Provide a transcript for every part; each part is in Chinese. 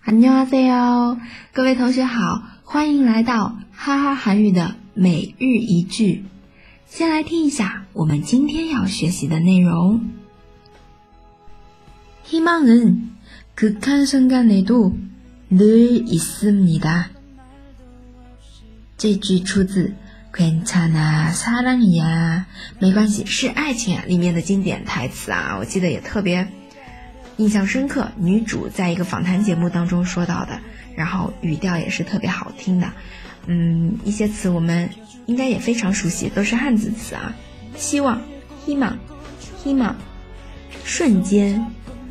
안녕하세요，各位同学好，欢迎来到哈哈韩语的每日一句。先来听一下我们今天要学习的内容。희망은 극한 순간에도 늘 있습니다。这句出自괜찮아 사랑이야，没关系，是爱情啊里面的经典台词啊，我记得也特别印象深刻，女主在一个访谈节目当中说到的，然后语调也是特别好听的。一些词我们应该也非常熟悉，都是汉字词啊。希望 희망， 瞬間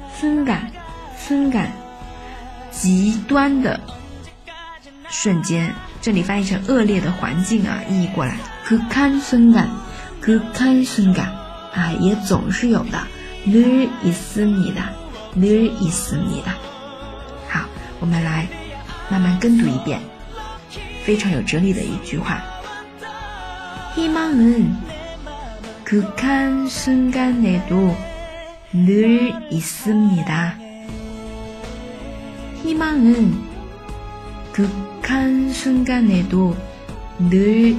순간， 极端的瞬间，这里翻译成恶劣的环境啊，意译过来극한 순간啊，也总是有的늘 있습니다。好，我们来慢慢跟读一遍，非常有哲理的一句话。희망은 극한 순간에도 늘 있습니다。희망은 극한 순간에도 늘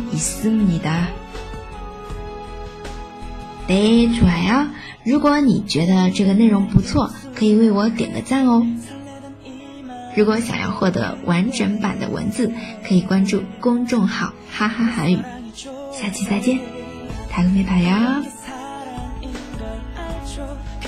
있습니다。네，좋아요。如果你觉得这个内容不错，可以为我点个赞哦。如果想要获得完整版的文字，可以关注公众号哈哈韩语。下期再见，다음에 봐요。